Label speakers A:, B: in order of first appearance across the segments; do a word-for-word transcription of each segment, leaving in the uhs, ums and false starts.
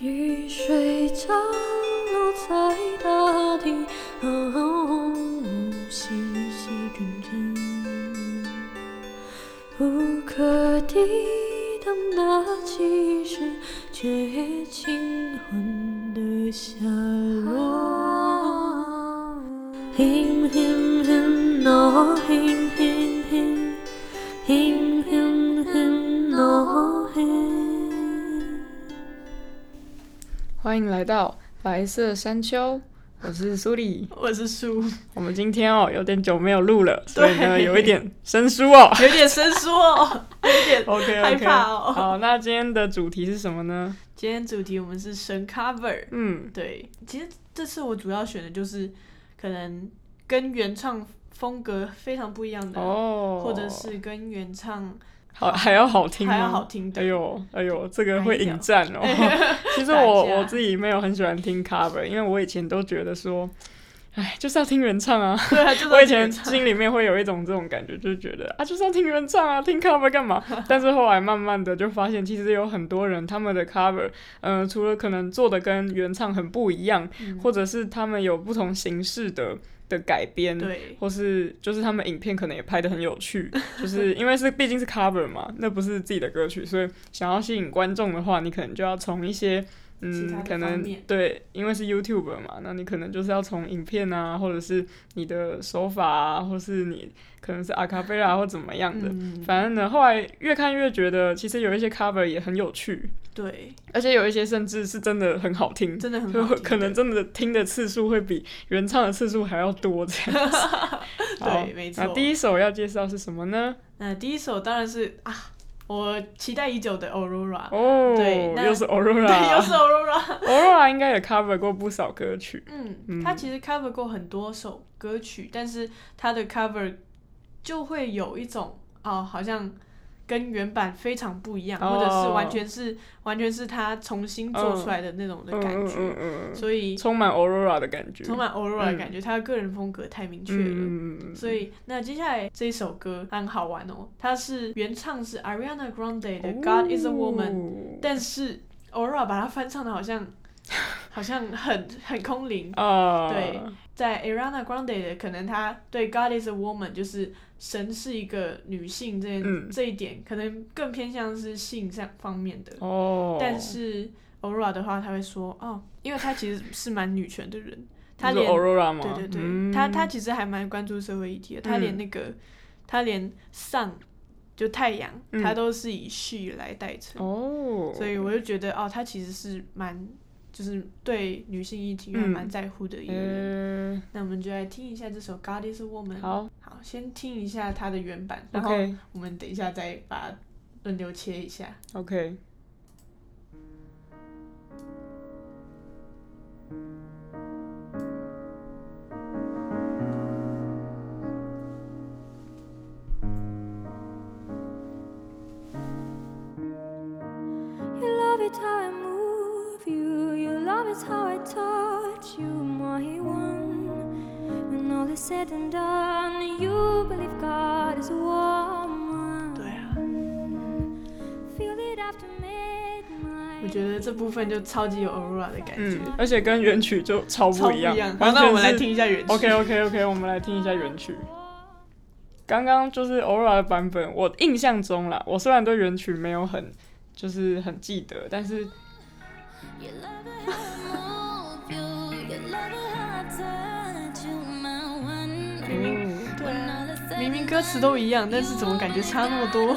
A: 雨水降落在大地，哦，细细阵阵，无可抵挡的气势，却轻缓的下落。Him him him no him him him him him him no him。
B: 欢迎来到白色山丘，我是苏里，
C: 我是苏。
B: 我们今天哦有点久没有录了，所以呢有一点生疏哦，
C: 有点生疏哦，有点
B: OK
C: 害
B: OK。
C: 怕哦。
B: 好，那今天的主题是什么呢？
C: 今天主题我们是神 cover，
B: 嗯，
C: 对，其实这次我主要选的就是可能跟原唱风格非常不一样的，
B: 哦，
C: 或者是跟原唱
B: 好还要好听吗？
C: 还要好听的。
B: 哎呦哎呦，这个会引战哦。其实我我自己没有很喜欢听 cover， 因为我以前都觉得说，哎，就是要听原唱啊。
C: 对啊，就是要听原唱。
B: 我以前心里面会有一种这种感觉，就是觉得啊，就是要听原唱啊，听 cover 干嘛？但是后来慢慢的就发现，其实有很多人他们的 cover， 嗯、呃，除了可能做的跟原唱很不一样，嗯、或者是他们有不同形式的。的改编，
C: 对，
B: 或是就是他们影片可能也拍得很有趣，就是因为是毕竟是 cover 嘛，那不是自己的歌曲，所以想要吸引观众的话，你可能就要从一些嗯，可能对，因为是 YouTuber 嘛，那你可能就是要从影片啊，或者是你的手法啊，或是你可能是阿卡贝拉或怎么样的，嗯、反正呢，后来越看越觉得，其实有一些 cover 也很有趣。
C: 对，
B: 而且有一些甚至是真的很好听，
C: 真的很好听，
B: 就可能真的听的次数会比原唱的次数还要多这样子。
C: 对，没错。
B: 那第一首要介绍是什么呢？
C: 那第一首当然是啊，我期待已久的 Aurora。
B: 哦，
C: 对，
B: 又是 Aurora，
C: 对，又是 Aurora。Aurora
B: 应该也 cover 过不少歌曲。
C: 嗯，嗯他其实 cover 过很多首歌曲，但是他的 cover 就会有一种哦，好像。跟原版非常不一样， oh. 或者是完全是完全是他重新做出来的那种的感觉，嗯嗯嗯、所以
B: 充满 Aurora 的感觉，
C: 充满 Aurora 的感觉，嗯、他的个人风格太明确了，嗯、所以那接下来这一首歌很好玩哦，它是原唱是 Ariana Grande 的 God is a Woman，、oh. 但是 Aurora 把它翻唱的好像好像很很空灵， uh. 对，在 Ariana Grande 的可能他对 God is a Woman 就是神是一个女性这、嗯、这一点可能更偏向是性上方面的，哦、但是 Aurora 的话他会说哦，因为他其实是蛮女权的人，他连
B: Aurora 吗？
C: 对对对，
B: 嗯、
C: 他他其实还蛮关注社会议题的，他连那个、嗯、他连 sun 就太阳、嗯、他都是以 she 来代称，哦，所以我就觉得哦，他其实是蛮。就是对女性议题还蛮在乎的一个人、嗯、那我们就来听一下这首 God is a Woman。
B: 好，
C: 好，先听一下它的原版，然后我们等一下再把它轮流切一下。
B: OK。
A: It's how I touch you, my one. When all is said and done, you believe God is a woman.
C: 对啊，我觉得这部分就超级有 Aurora 的感觉、
B: 嗯，而且跟原曲就超不一样。
C: 好，那我们来听一下原曲。
B: OK OK OK， 我们来听一下原曲。刚刚就是 Aurora 的版本，我印象中啦，我虽然对原曲没有很就是很记得，但是。
C: 明明对啊，明明歌词都一样，但是怎么感觉差那么多？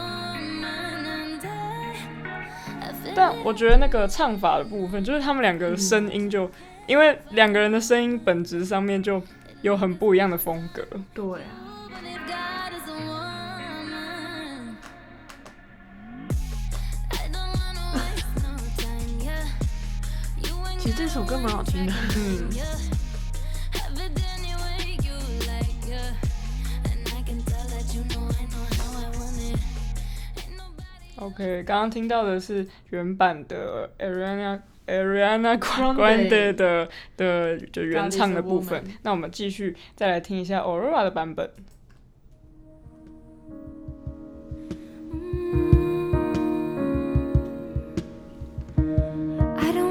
B: 但我觉得那个唱法的部分，就是他们两个声音就，嗯、因为两个人的声音本质上面就有很不一样的风格。
C: 对啊。其实这首歌蛮好听的，嗯。
B: OK， 刚刚听到的是原版的 Ariana Ariana Grande 的的就原唱的部分，那我们继续再来听一下 Aurora 的版本。
A: I don't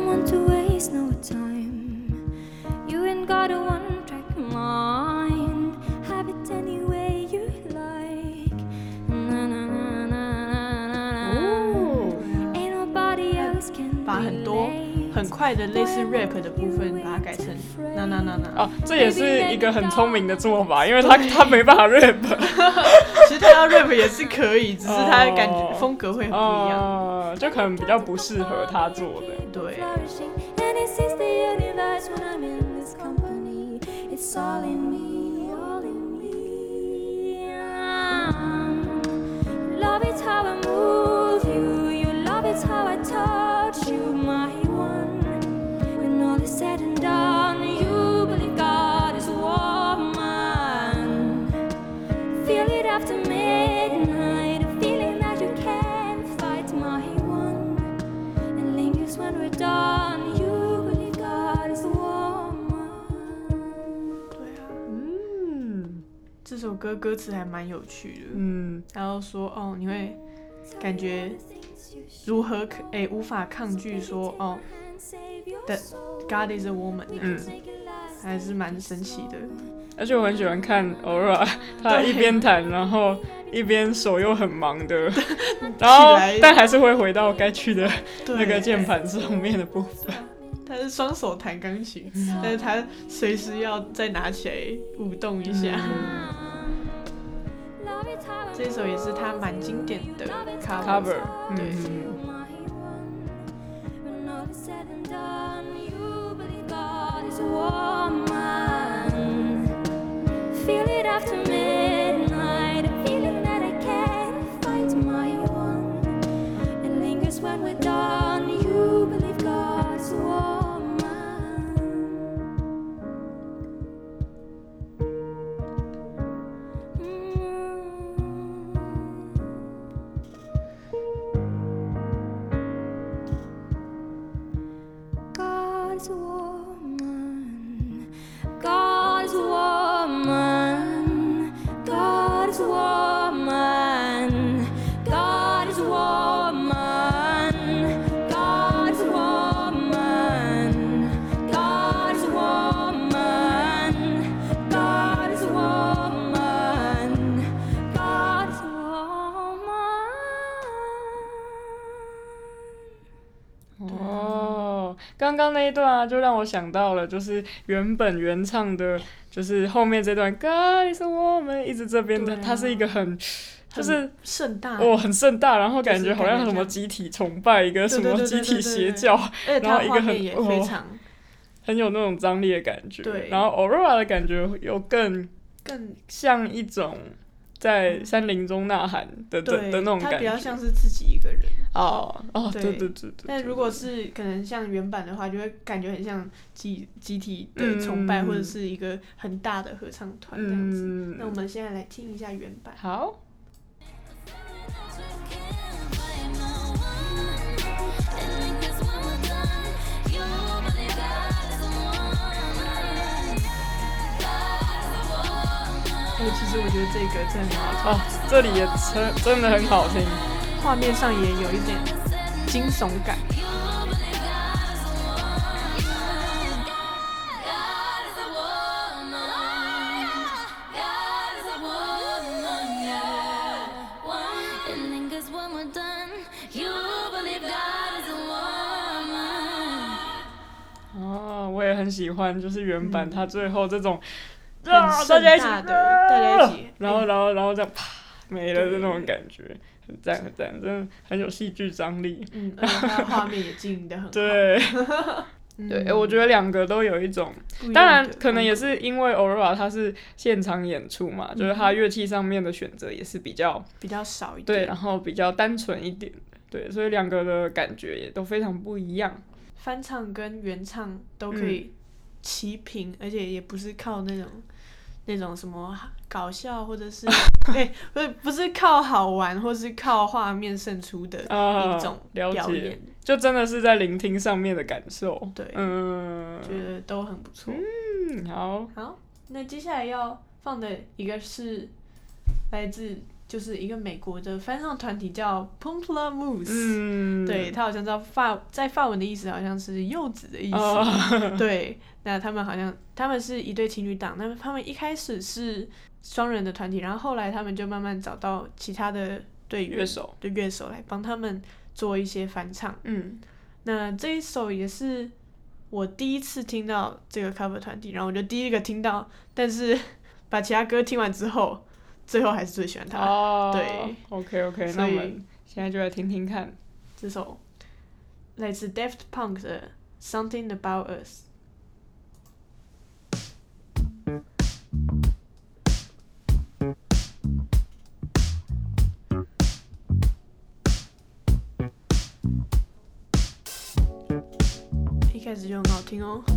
A: got a one-track mind. Have it any way you like. Na na na na na na. Ain't nobody else can
C: 把很多很快的类似 rap 的部分把它改成那那那那。
B: 哦，这也是一个很聪明的做法，因为他他没办法 rap。
C: 其实他要 rap 也是可以，只是他的感觉风格会很不一样，
B: 哦，就可能比较不适合他做的。
C: 对。
A: It's all in me, all in me. Love it how I move you, you love it how I touch you, my one. When all is said and done, you believe God is a woman. Feel it after midnight, a feeling that you can't fight, my one. And lingers when we're done, you believe God is a woman.
C: 这首歌歌词还蛮有趣的，
B: 嗯，
C: 然后说哦，你会感觉如何可诶无法抗拒说哦的 God is a woman， 嗯，还是蛮神奇的。
B: 而且我很喜欢看 Aurora， 她一边弹，然后一边手又很忙的，然后但还是会回到该去的那个键盘上面的部分。
C: 他是双手弹钢琴，嗯，但是他随时要再拿起来舞动一下。嗯，这首也是他蛮经典的 cover，,
B: cover
C: 对。
B: 刚刚那一段啊，就让我想到了，就是原本原唱的，就是后面这段 God is a woman， 一直这边的，啊，它是一个很，就是
C: 盛大，
B: 哦，很盛大，然后感觉好像什么集体崇拜，一个什么集体邪教，然后一个很
C: 非常，
B: 哦，很有那种张力的感觉。
C: 对，
B: 然后 Aurora 的感觉又更
C: 更
B: 像一种在山林中呐喊的的的那种感觉，
C: 他比较像是自己一个人。
B: 哦哦，对对对对。
C: 但如果是可能像原版的话，就会感觉很像集集体的崇拜，嗯，或者是一个很大的合唱团这样子，嗯。那我们现在来听一下原版。
B: 好。
C: 哎，其实我觉得这个真的很好听
B: 哦，这里也真真的很好听。
C: 画面上也有一点惊悚感。
B: 哦，我也很喜欢，就是原版它最后这种，
C: 嗯，啊，大家一起的，大家一起，
B: 然后然后然后这样啪没了的那种感觉。很赞很赞，真的很有戏剧张力。
C: 嗯，而且它的画面也经营得很好。
B: 对，对，欸，我觉得两个都有一种，当然可能也是因为 Aurora 它是现场演出嘛，嗯，就是它乐器上面的选择也是比较
C: 比较少一点，
B: 对，然后比较单纯一点，对，所以两个的感觉也都非常不一样。
C: 翻唱跟原唱都可以齐平，嗯，而且也不是靠那种。那种什么搞笑，或者是哎，不是不是靠好玩，或是靠画面胜出的一种表演，
B: 了解，就真的是在聆听上面的感受。
C: 对，
B: 嗯，
C: 觉得都很不错。
B: 嗯，好，
C: 好，那接下来要放的一个是来自就是一个美国的翻唱团体叫 Pomplamoose，
B: 嗯，
C: 对，它好像在法在法文的意思好像是柚子的意思，
B: 哦、
C: 对，那他们好像他们是一对情侣档，那他们一开始是双人的团体，然后后来他们就慢慢找到其他的队员
B: 乐手
C: 的乐手来帮他们做一些翻唱，
B: 嗯，
C: 那这一首也是我第一次听到这个 cover 团体，然后我就第一个听到，但是把其他歌听完之后。最后还是最喜欢他，
B: 哦、
C: 对
B: ，OK OK， 那我们现在就来听听看
C: 这首来自 Daft Punk 的 Something About Us。一开始就很好听哦。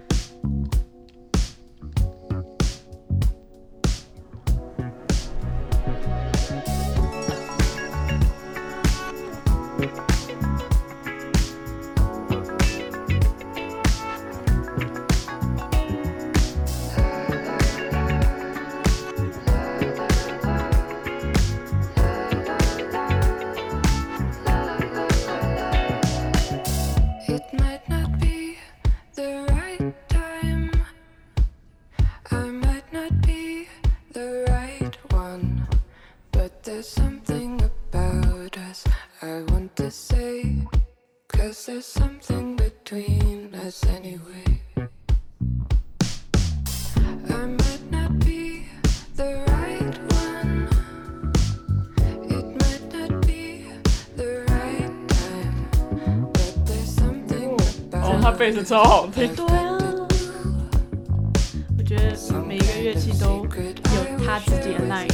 B: 他贝斯超好听。
C: 对啊，我觉得每一个乐器都有他自己的 line。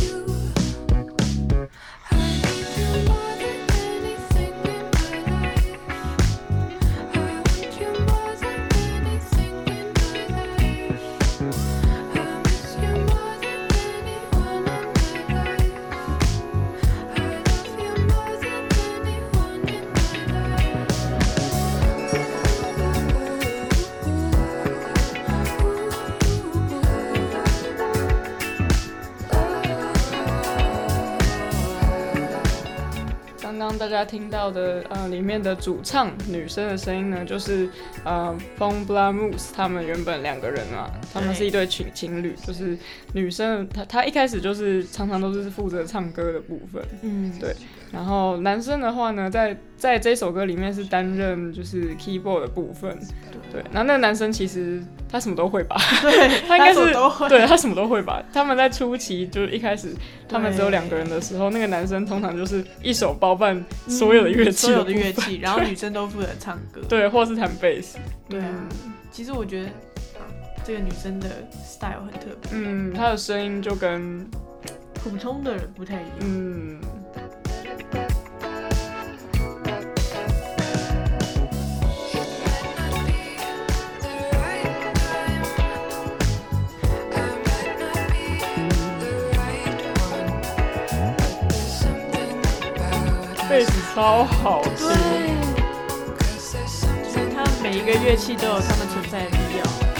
B: 刚刚大家听到的，呃，里面的主唱女生的声音呢，就是呃 Pomplamoose 他们原本两个人嘛，他们是一对情情侣，就是女生她她一开始就是常常都是负责唱歌的部分，嗯，对。然后男生的话呢，在在这首歌里面是担任就是 keyboard 的部分，对。然后那个男生其实他什么都会吧，
C: 对，
B: 他应该是
C: 都会，
B: 对他什么都会吧。他们在初期就是一开始他们只有两个人的时候，那个男生通常就是一手包办所有的乐器的、嗯，所
C: 有的乐器，然后女生都负责唱歌，
B: 对，或是弹贝斯。
C: 对啊，嗯、其实我觉得、啊、这个女生的 style 很特别，
B: 嗯，她的声音就跟
C: 普通的人不太一样，
B: 嗯。贝斯超好听，
C: 就是它每一个乐器都有它们存在的必要。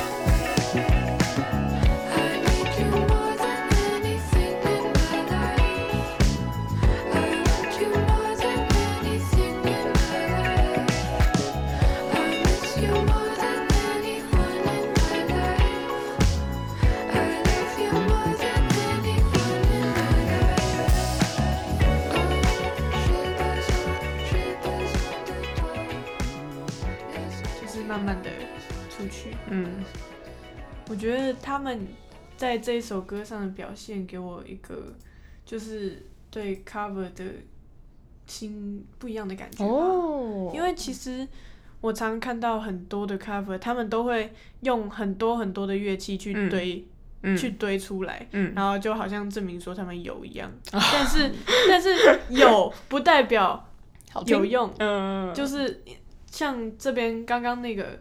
C: 慢慢的出去，嗯，我觉得他们在这一首歌上的表现给我一个就是对 cover 的新不一样的感觉吧，哦，因为其实我常看到很多的 cover， 他们都会用很多很多的乐器去堆，嗯、去堆出来，嗯，然后就好像证明说他们有一样，嗯、但是但是有不代表有用，嗯，就是。像这边刚刚那个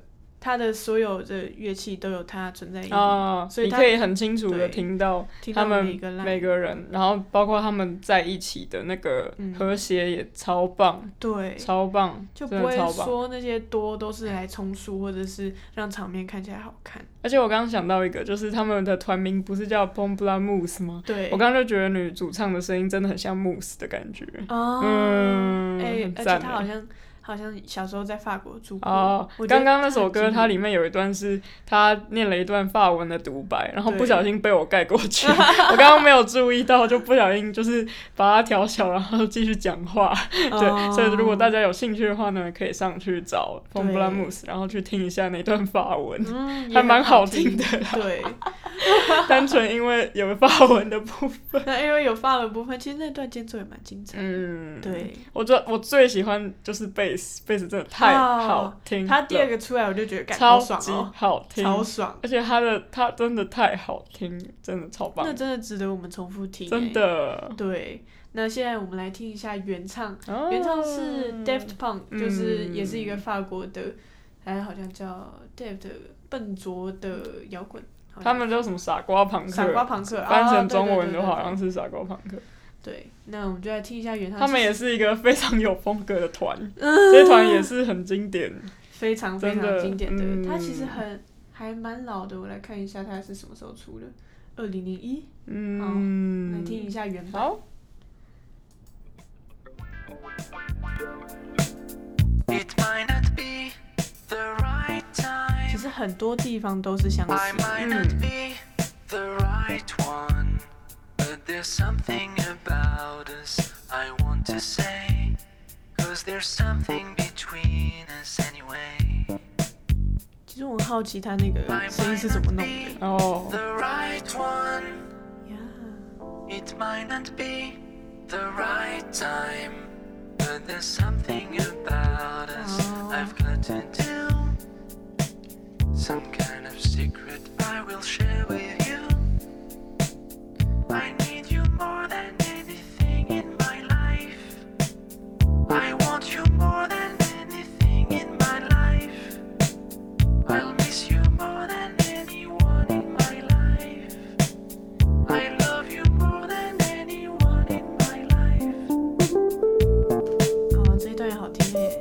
C: 他的所有的乐器都有他存在意义，
B: 哦、
C: 所以
B: 你可以很清楚的听到他们每个人，然后包括他们在一起的那个和谐也超棒，
C: 嗯、对，
B: 超棒，
C: 就不会说那些多都是来充数或者是让场面看起来好看。
B: 而且我刚刚想到一个，就是他们的团名不是叫 Pomplamoose 吗？
C: 对，
B: 我刚刚就觉得女主唱的声音真的很像 Mousse 的感觉，
C: 哦、
B: 嗯，
C: 欸、
B: 很赞，
C: 而且她好像。好像小时候在法国住过。
B: 哦，刚刚那首歌它里面有一段是他念了一段法文的独白，然后不小心被我盖过去，我刚刚没有注意到，就不小心就是把它调小，然后继续讲话。哦、对，所以如果大家有兴趣的话呢，可以上去找 Pomplamoose， 然后去听一下那段法文，嗯、还蛮好听的啦。
C: 对，
B: 单纯因为有法文的部分。
C: 那因为有法文部分，其实那段间奏也蛮精彩的。嗯，对，
B: 我觉得我最喜欢就是贝。贝斯真的太好听了，
C: 他第二个出来我就觉得
B: 超级好听，
C: 超爽，
B: 而且他的他真的太好听，真的超棒，
C: 那真的值得我们重复听，
B: 真的。
C: 对，那现在我们来听一下原唱，哦、原唱是 Daft Punk，、嗯、就是也是一个法国的，还好像叫 Daft 笨拙的摇滚，
B: 他们叫什么傻瓜朋克，
C: 傻瓜朋克，
B: 翻成中文的话好像是傻瓜朋克。
C: 对，那我们就来听一下原唱。
B: 他们也是一个非常有风格的团，嗯、这些团也是很经典，
C: 非常非常经典的。嗯、它其实很还蛮老的，我来看一下它是什么时候出的，二零零一。嗯，好，来听一下原版。好。其实很多地方都是相似。嗯。
D: There's something about us I want to say, 'cause there's something between us anyway.
C: 其实我很好奇他那个声音是怎么弄的。
B: 哦。
D: The right one. Yeah. It might not be the right time, but there's something about us I've got to do. Some kind of secret I will share with you. I need you more than anything in my life. I want you more than anything in my life. I'll miss you more than anyone in my life. I love you more than anyone in my life.
C: 哦，这一段也好听耶。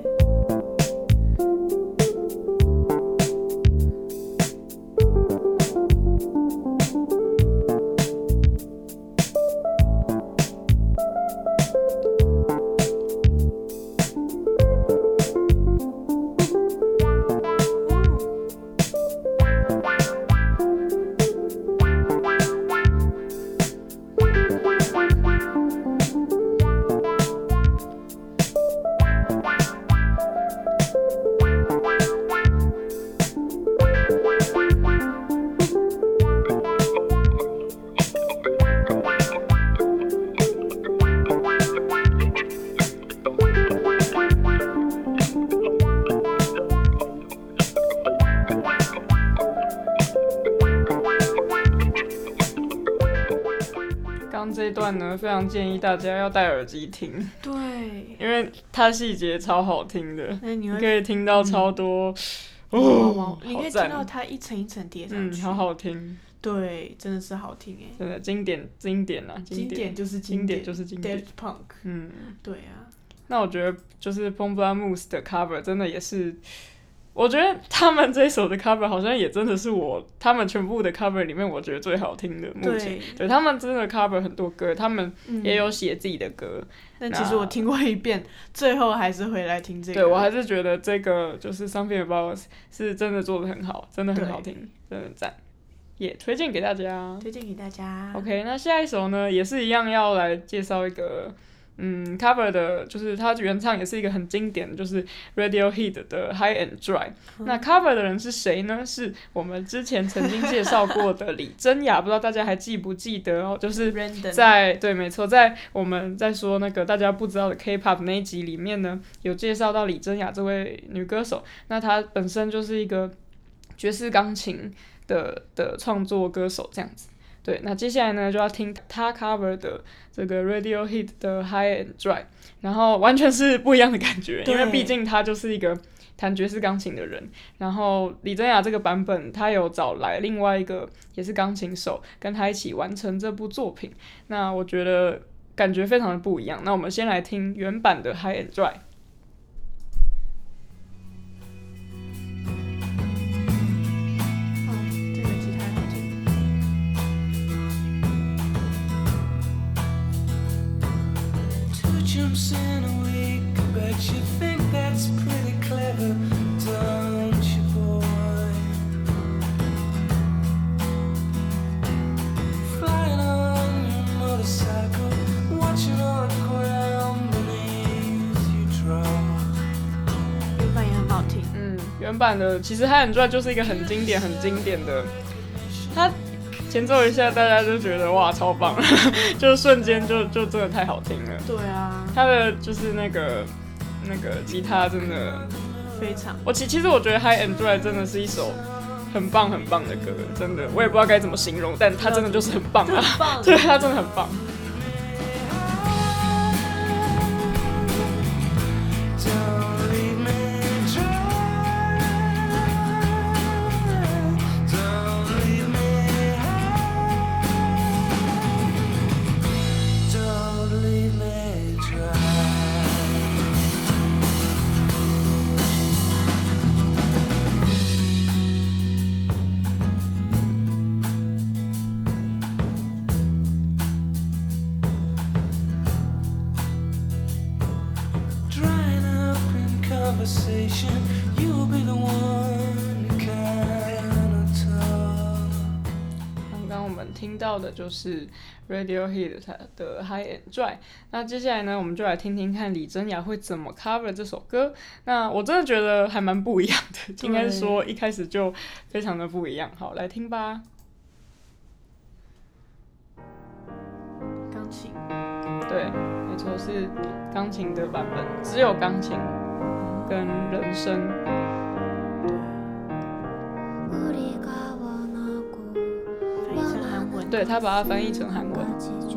B: 这一段呢，非常建议大家要戴耳机听，
C: 对，
B: 因为它细节超好听的，
C: 你,
B: 你可以听到超多，
C: 嗯、哦，你可以听到它一层一层叠上去，
B: 嗯，好好听，
C: 对，真的是好听哎，
B: 真的经典经典啊，
C: 经典就是
B: 经典就是经典
C: ，Daft Punk， 嗯，对啊，
B: 那我觉得就是 Pomplamoose 的 cover 真的也是。我觉得他们这一首的 cover 好像也真的是我他们全部的 cover 里面我觉得最好听的。目前 对, 对他们真的 cover 很多歌，他们也有写自己的歌。嗯、
C: 但其实我听过一遍，最后还是回来听这个。
B: 对，我还是觉得这个就是 Something About Us 是真的做得很好，真的很好听，真的很赞，也、yeah, 推荐给大家。
C: 推荐给大家。
B: OK， 那下一首呢也是一样要来介绍一个。嗯 ，cover 的就是它原唱也是一个很经典的，就是 Radiohead 的 High and Dry、嗯。那 cover 的人是谁呢？是我们之前曾经介绍过的李珍雅，不知道大家还记不记得哦？就是在对，没错，在我们在说那个大家不知道的 K-pop 那一集里面呢，有介绍到李珍雅这位女歌手。那她本身就是一个爵士钢琴的的创作歌手，这样子。对，那接下来呢就要听他 cover 的这个 Radiohead 的 High and Dry， 然后完全是不一样的感觉，因为毕竟他就是一个弹爵士钢琴的人。然后李珍雅这个版本，他有找来另外一个也是钢琴手，跟他一起完成这部作品。那我觉得感觉非常的不一样。那我们先来听原版的 High and Dry。
D: Jumps in a week, but you think that's pretty clever, don't you, boy? Flying on your motorcycle, watching all the ground beneath you drop.
C: 原版也很好听。
B: 嗯，原版的其实《High and Dry》就是一个很经典、很经典的，它前奏一下，大家就觉得哇超棒，就瞬间就就真的太好听了。
C: 对啊，
B: 他的就是那个那个吉他真的
C: 非常。
B: 我其其实我觉得《High and Dry》真的是一首很棒很棒的歌，真的我也不知道该怎么形容，但它真的就是很棒啊，
C: 很棒
B: 对，它真的很棒。刚刚我们听到的就是 Radiohead 的 High and Dry。那接下来呢，我们就来听听看李珍雅会怎么 cover 这首歌。那我真的觉得还蛮不一样的，应该是说一开始就非常的不一样。好，来听吧。
C: 钢琴，
B: 对，没错，是钢琴的版本，只有钢琴跟人声。对，他把它翻译成韩文。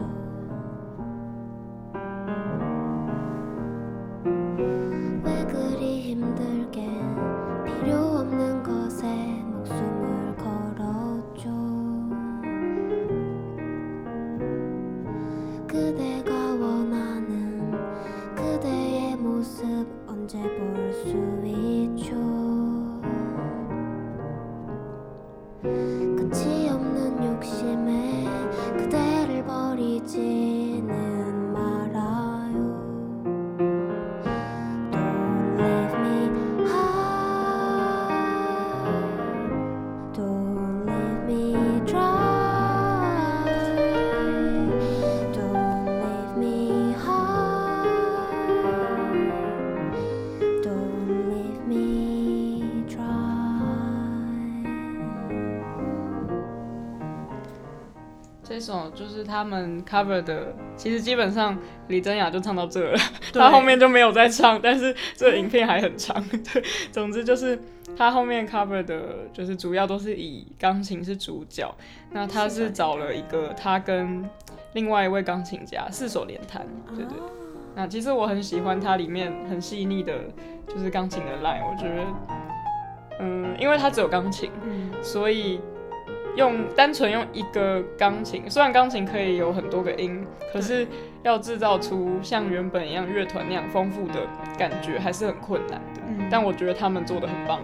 B: 这首就是他们 cover 的，其实基本上李珍雅就唱到这了，他后面就没有再唱，但是这个影片还很长。对，总之就是他后面 cover 的，就是主要都是以钢琴是主角，那他是找了一个他跟另外一位钢琴家四手联弹，对对。那其实我很喜欢它里面很细腻的，就是钢琴的 line， 我觉得，嗯，因为它只有钢琴，嗯，所以。用单纯用一个钢琴，虽然钢琴可以有很多个音，可是要制造出像原本一样乐团那样丰富的感觉，还是很困难的。嗯、但我觉得他们做得很棒。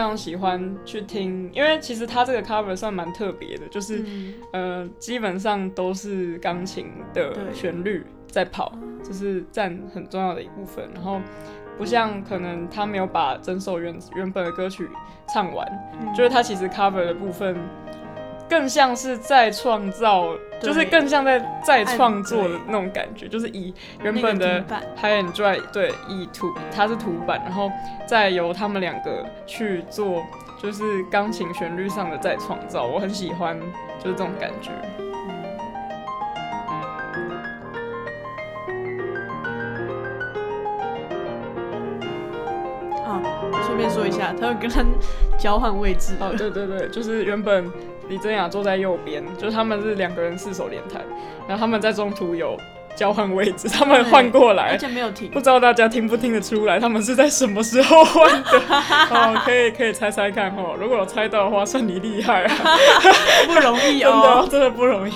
B: 常喜欢去听，因为其实他这个 cover 算蛮特别的，就是、嗯、呃基本上都是钢琴的旋律在跑，这是占很重要的一部分。然后不像可能他没有把整首 原, 原本的歌曲唱完、嗯，就是他其实 cover 的部分更像是在创造，就是更像在再创作的那种感觉，就是以原本的 High and Dry 对，以图它是图版，然后再由他们两个去做，就是钢琴旋律上的再创造，我很喜欢就是这种感觉。
C: 顺便说一下，他会跟他交换位置。
B: 哦，对对对，就是原本李珍雅坐在右边，就是他们是两个人四手联弹，然后他们在中途有交换位置，他们换过来，
C: 而且没有停。
B: 不知道大家听不听得出来，他们是在什么时候换的？哦，可以可以猜猜看哦，如果有猜到的话，算你厉害啊，
C: 不容易哦，
B: 真的真的不容易。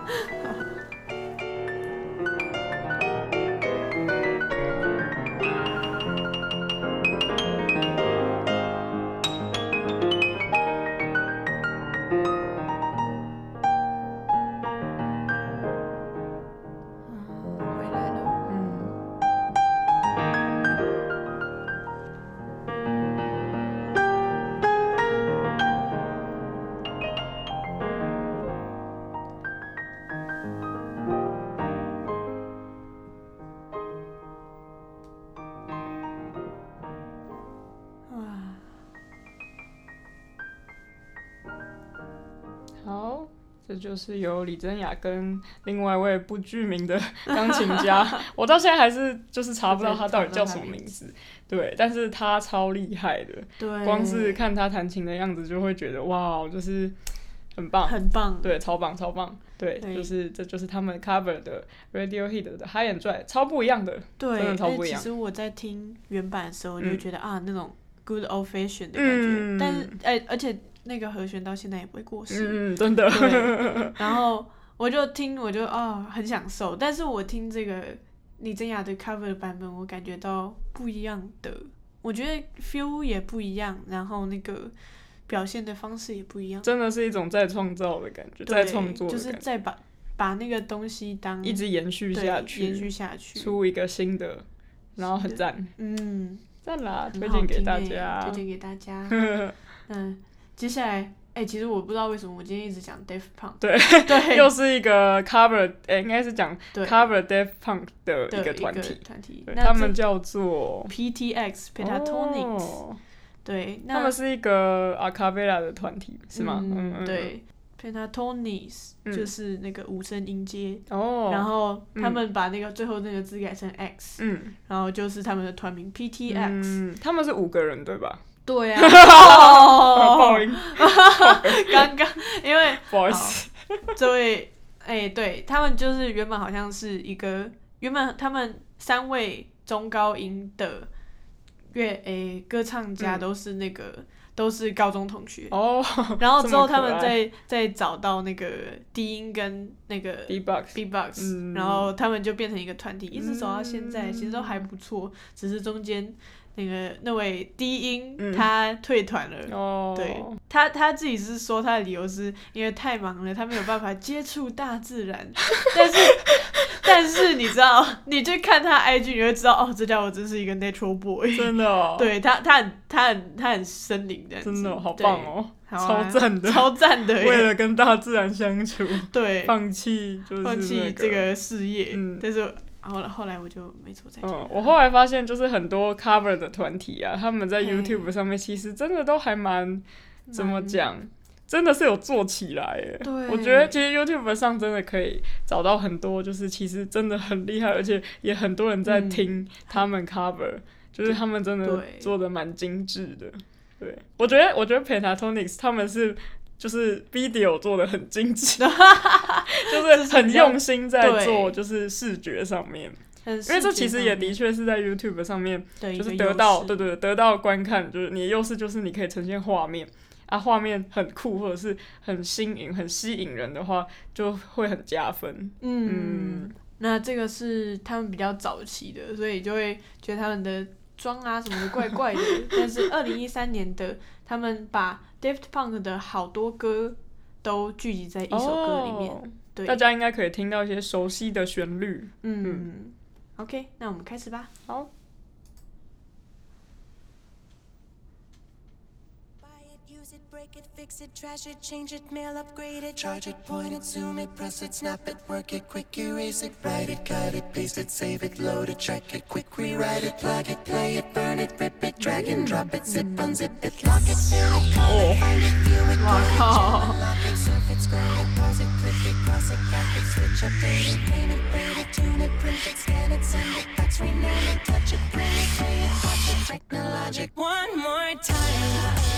B: 好，这就是由李珍雅跟另外一位不具名的钢琴家，我到现在还是就是查不到他到底叫什么名字。对，但是他超厉害的，对，光是看他弹琴的样子就会觉得哇，就是很棒，
C: 很棒，
B: 对，超棒超棒。对，对就是这就是他们 cover 的 Radiohead 的 High and Dry， 超不一样的，
C: 对，
B: 真的超不一样。
C: 其实我在听原版的时候，就觉得、嗯、啊那种 good old fashion 的感觉，嗯、但是哎，而且那个和弦到现在也不会过时，
B: 嗯，真的。
C: 然后我就听，我就哦很享受，但是我听这个李珍雅的 cover 的版本，我感觉到不一样的，我觉得 feel 也不一样，然后那个表现的方式也不一样，
B: 真的是一种再创造的感觉，再创作的感觉，
C: 就是再把把那个东西当
B: 一直延续下去，
C: 延续下去，
B: 出一个新的，然后很赞，
C: 嗯，
B: 赞啦，推荐给大家，
C: 推荐给大家。嗯，接下来，哎、欸，其实我不知道为什么我今天一直讲 Daft Punk，
B: 对对，又是一个 cover， 哎、欸，应该是讲 cover Daft Punk 的一个团体，
C: 团体，
B: 他们叫做
C: P T X Pentatonix。哦，对，
B: 他们是一个 a cappella 的团体，是吗？
C: 嗯，嗯对 ，Pentatonix、嗯、就是那个五声音阶，哦，然后他们把那个、嗯、最后那个字改成 X， 嗯，然后就是他们的团名 P T X，
B: 嗯，他们是五个人对吧？
C: 对啊，哦，
B: 爆音，
C: 刚刚因为
B: 不好意思，
C: 这位，哎、欸，对他们就是原本好像是一个原本他们三位中高音的。乐诶，歌唱家都是那个、嗯、都是高中同学哦，然后之后他们再再找到那个低音跟那个
B: B-box
C: B-box、嗯、然后他们就变成一个团体，一直走到现在、嗯，其实都还不错，只是中间那个那位低音、嗯、他退团了，哦，对，他他自己是说他的理由是因为太忙了，他没有办法接触大自然，但是。但是你知道，你去看他 I G， 你会知道哦，这家伙真是一个 natural boy，
B: 真的哦。
C: 对他，他很他很他很森林的，
B: 真的、哦、好棒哦，
C: 啊、
B: 超赞的，
C: 超赞的。
B: 为了跟大自然相处，
C: 对，
B: 放弃就是、那個、
C: 放弃这个事业。嗯，但是后来后来我就没错再讲。
B: 嗯，我后来发现就是很多 cover 的团体啊，他们在 YouTube 上面其实真的都还蛮怎么讲。真的是有做起来耶，
C: 对，
B: 我觉得其实 YouTube 上真的可以找到很多，就是其实真的很厉害，而且也很多人在听他们 cover，、嗯、就是他们真的做的蛮精致的。对，我觉得我觉得 Pentatonix 他们是就是 video 做的很精致，就是很用心在做，就是视觉上面。因为这其实也的确是在 YouTube 上面，就是得到对对得到观看，就是你的优势就是你可以呈现画面。啊，画面很酷或者是很新颖、很吸引人的话，就会很加分。嗯，
C: 嗯那这个是他们比较早期的，所以就会觉得他们的妆啊什么的怪怪的，但是二零一三年的他们把 Daft Punk 的好多歌都聚集在一首歌里面， oh, 对，
B: 大家应该可以听到一些熟悉的旋律。
C: 嗯, 嗯 OK， 那我们开始吧。
B: 好。
D: Break it, fix it, trash it, change it, mail, upgrade it, charge it, point it, zoom it, press it, snap it, work it, quick erase it, write it, cut it, paste it, save it, load it, check it, quick rewrite it, plug it, play it, burn it, rip it, drag and drop it, zip, unzip it, lock it, fill it, call it, find it, view it,
C: wow.
D: Lock it, surf it, scroll it, pause it, click it, cross it, back it, switch, update it, name it, braid it, tune it, print it, scan it, send it, fax, rename it, touch it, print it, play it, watch it, technologic, one more time.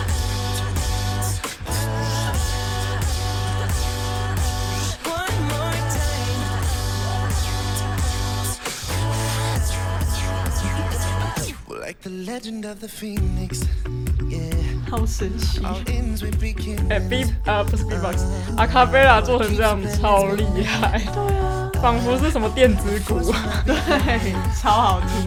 D: Like the legend of the phoenix, yeah.
C: 好神奇！
B: 哎、欸、，B 呃不是 B-box， 阿卡贝拉做成这样超厉害，
C: 对啊，
B: 仿佛是什么电子鼓，
C: 对，超好听。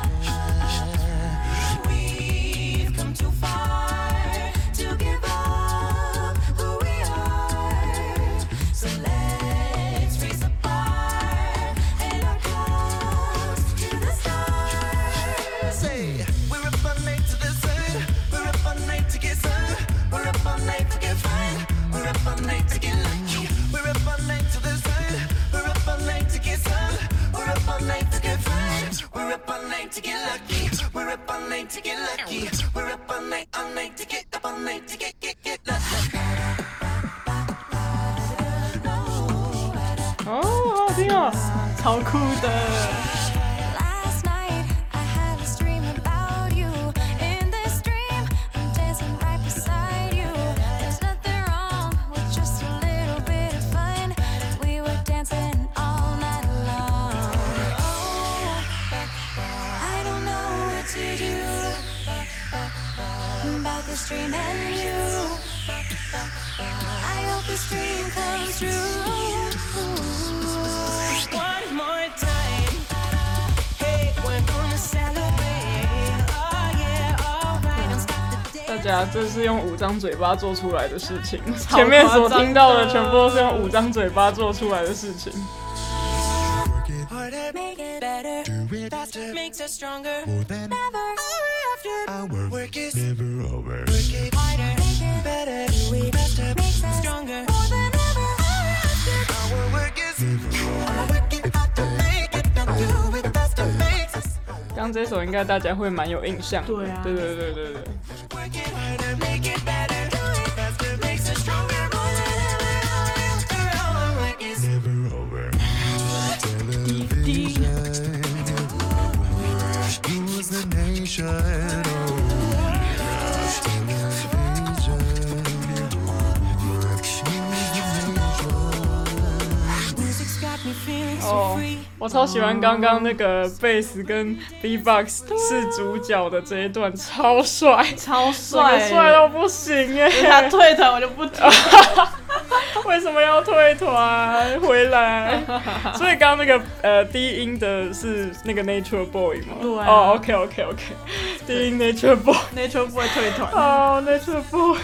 D: To get lucky, we're up all night to get lucky. We're up all night, all night to get up all night to get get get lucky.
B: 哦，好好听哦，
C: 超酷的。
A: Dream and you, I hope this dream comes true.
D: One more time, hey, we're gonna celebrate. Oh yeah, alright, don't stop the day.
B: 大家这是用五张嘴巴做出来的事情，前面所听到的全部都是用五张嘴巴做出来的事情。
D: Make it better, do it faster, makes us stronger. More than ever, our work is never over. Work it harder, make it better, do it faster, makes us stronger. More than ever, our work is never over. Work it harder, make it better, do it faster, makes us.
B: 刚这首应该大家会蛮有印象的，
C: 对啊，
B: 对对对对对。
D: Work it harder, make it better, do it faster, makes us stronger. More than ever, our work is never over. Who's the nation?
B: 哦，我超喜欢刚刚那个贝斯跟 B-box 是主角的这一段，超帅，
C: 超帅，
B: 帅到不行耶！
C: 他退团我就不听。
B: 为什么要退团？回来！所以刚刚那个呃低音的是那个 Nature Boy 吗？
C: 对啊。
B: 哦、oh, ，OK OK OK， 低音 Nature Boy。Nature
C: Boy 退团。
B: 哦、oh, ，Nature Boy。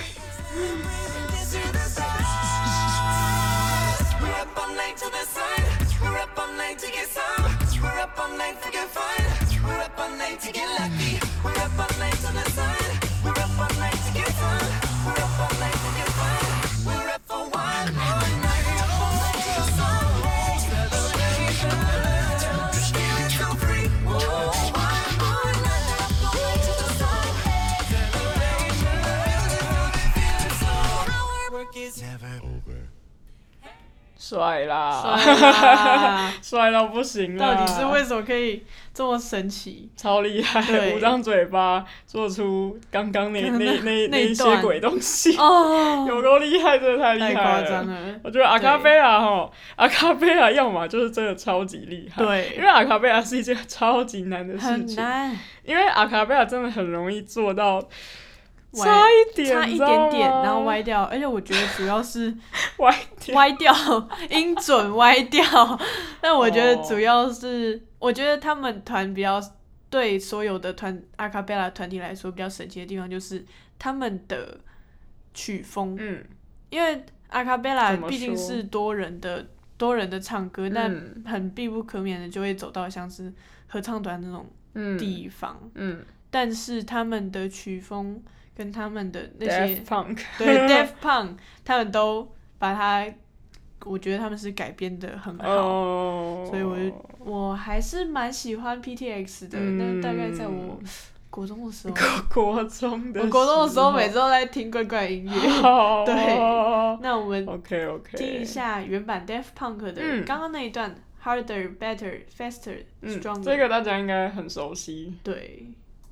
B: 帅啦，帅到不行啦！
C: 到底是为什么可以这么神奇？
B: 超厉害，五张嘴巴做出刚刚那那那那一些鬼东西，哦，有够厉害，真的太厉害了！
C: 太夸张了！
B: 我觉得阿卡贝拉哈，阿卡贝拉要么就是真的超级厉害，
C: 对，
B: 因为阿卡贝拉是一件超级难的事情，
C: 很难，
B: 因为阿卡贝拉真的很容易做到。差一点，
C: 差一点点，然后歪掉，而且我觉得主要是
B: 歪
C: 歪掉，音准歪掉。但我觉得主要是， oh. 我觉得他们团比较对所有的团阿卡贝拉团体来说比较神奇的地方就是他们的曲风，嗯，因为阿卡贝拉毕竟是多人的多人的唱歌，但很必不可免的就会走到像是合唱团那种地方，嗯，嗯但是他们的曲风跟他们的那些
B: Daft Punk
C: 对 Daft Punk 他们都把它，我觉得他们是改编的很好， oh. 所以我就我还是蛮喜欢 P T X 的，那、嗯、大概在我国中的时候，
B: 国中的时候，
C: 我国中的时候每次都在听怪怪音乐。Oh. 对，那我们听一下原版 Daft Punk 的刚刚那一段、嗯、Harder, Better, Faster, Stronger、嗯、
B: 这个大家应该很熟悉。
C: 对。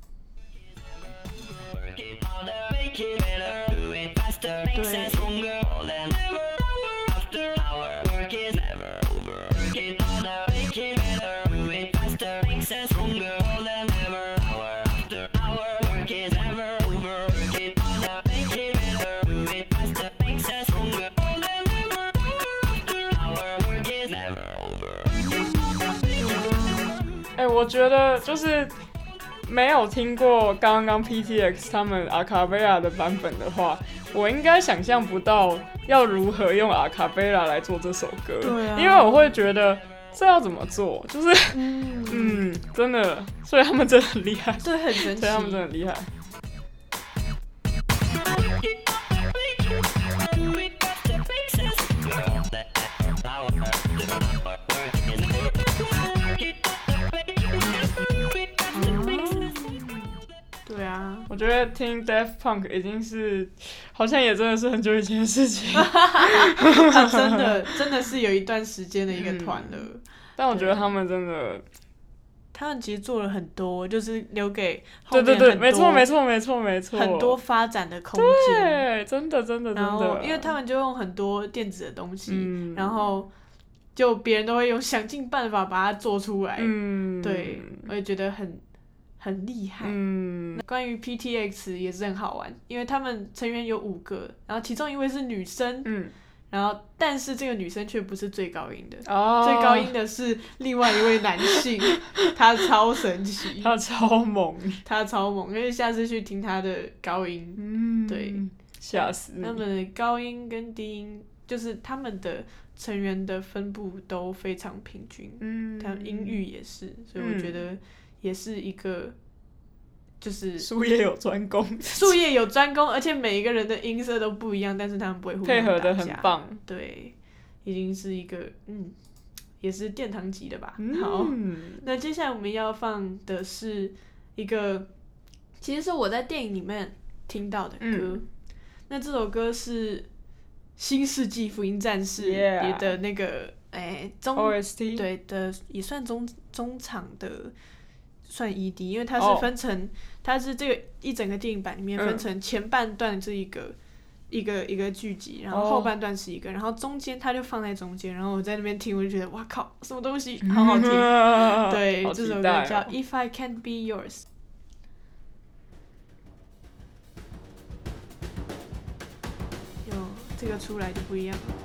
B: 哎、欸，我觉得就是没有听过刚刚 P T X 他们阿卡贝拉的版本的话，我应该想象不到要如何用阿卡贝拉来做这首歌。
C: 对啊，
B: 因为我会觉得这要怎么做，就是嗯, 嗯，真的，所以他们真的很厉害，
C: 对，很神奇，
B: 所以他们真的很厉害。
C: 对啊，
B: 我觉得听 Daft Punk 已经是，好像也真的是很久以前的事情。
C: 他真的真的是有一段时间的一个团了、嗯。
B: 但我觉得他们真的，
C: 他们其实做了很多，就是留给后面很多，
B: 对对对，没错没错没错没错，
C: 很多发展的空间。
B: 对，真的真的真的。
C: 然后，因为他们就用很多电子的东西，嗯、然后就别人都会用想尽办法把它做出来。嗯，对，我也觉得很。很厉害。嗯，关于 P T X 也是很好玩，因为他们成员有五个，然后其中一位是女生，嗯，然后但是这个女生却不是最高音的，哦，最高音的是另外一位男性，他超神奇，
B: 他超猛，
C: 他超猛，因为下次去听他的高音，嗯，对，
B: 吓死你。
C: 他们的高音跟低音，就是他们的成员的分布都非常平均，嗯，他们音域也是，所以我觉得。也是一个，就是
B: 术业有专攻，
C: 术业有专攻，而且每一个人的音色都不一样，但是他们不会互相
B: 配合的很棒，
C: 对，已经是一个嗯，也是殿堂级的吧。嗯、好，那接下来我们要放的是一个，其实是我在电影里面听到的歌，嗯、那这首歌是《新世纪福音战士》里的那个。哎，中
B: O S T
C: 对的，也算中中场的，算 E D， 因为它是分成，哦、它是这个一整个电影版里面分成前半段是一个、嗯、一个一个剧集，然后后半段是一个，哦、然后中间它就放在中间，然后我在那边听，我就觉得哇靠，什么东西，好好听，嗯、对，
B: 哦、
C: 这首歌叫 If I Can't Be Yours。有这个出来就不一样了。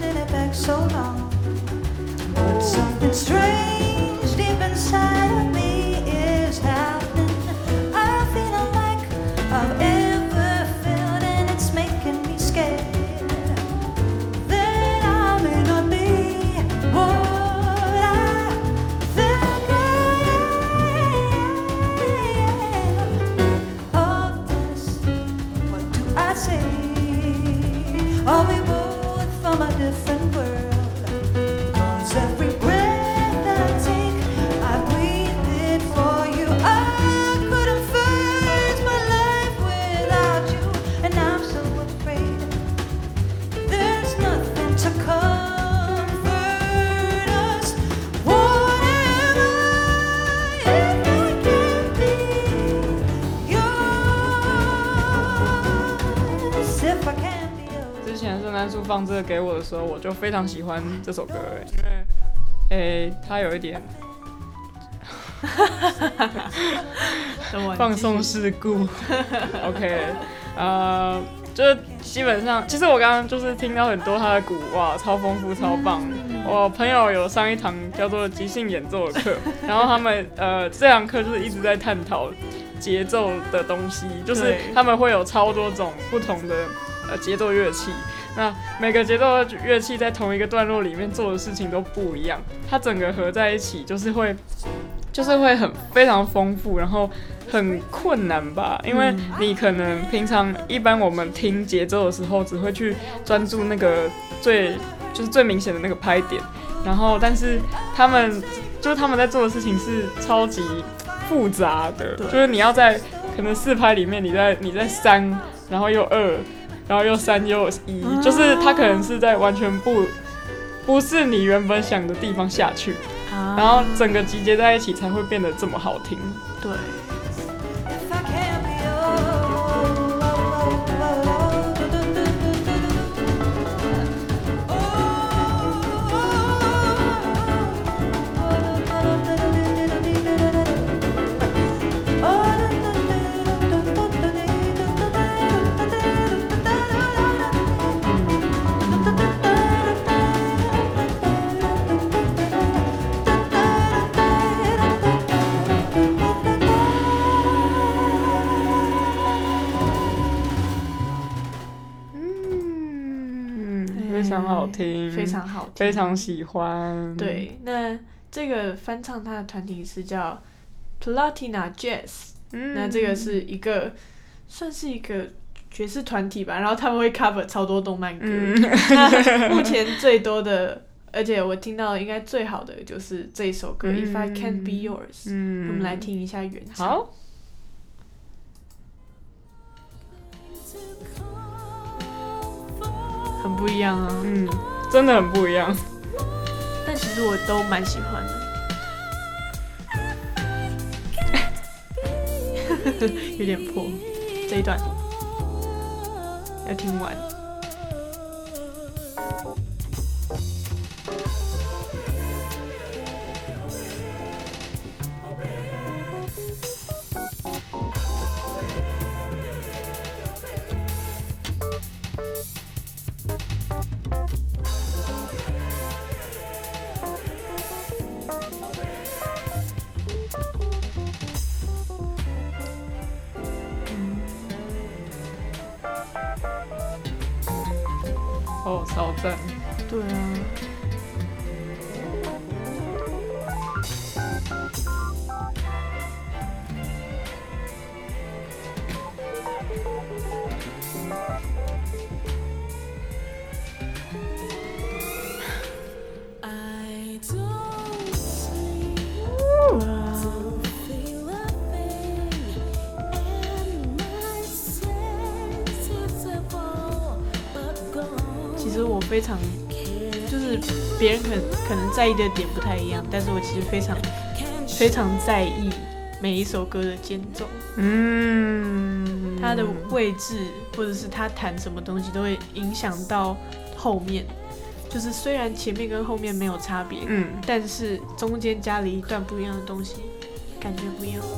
A: So long, but something strange deep inside of me
B: 放这个给我的时候，我就非常喜欢这首歌，因为诶它有一点放送事故，OK， 呃，就是基本上，其实我刚刚就是听到很多他的鼓，哇，超丰富，超棒。我朋友有上一堂叫做即兴演奏的课，然后他们呃这堂课就是一直在探讨节奏的东西，就是他们会有超多种不同的呃节奏乐器。那每个节奏的乐器在同一个段落里面做的事情都不一样，它整个合在一起就是会，就是会很非常丰富，然后很困难吧？因为你可能平常一般我们听节奏的时候，只会去专注那个最就是最明显的那个拍点，然后但是他们就是他们在做的事情是超级复杂的，就是你要在可能四拍里面，你在你在三，然后又二。然后又三又一，就是它可能是在完全不不是你原本想的地方下去，然后整个集结在一起才会变得这么好听。
C: 对。
B: 非常好听，
C: 非常好听，
B: 非常喜欢。
C: 对，那这个翻唱他的团体是叫 Platina Jazz，嗯，那这个是一个算是一个爵士团体吧，然后他们会 cover 超多动漫歌。嗯、那目前最多的，而且我听到应该最好的就是这一首歌、嗯、If I Can't Be Yours。嗯，我们来听一下原唱。
B: 好。
C: 很不一样啊，
B: 嗯，真的很不一样。
C: 但其实我都蛮喜欢的。有点破，这一段要听完。
B: 哦，超赞！
C: 对啊。其实我非常，就是别人可能可能在意的点不太一样，但是我其实非常非常在意每一首歌的间奏，嗯，它的位置或者是他弹什么东西都会影响到后面。就是虽然前面跟后面没有差别，嗯，但是中间加了一段不一样的东西，感觉不一样。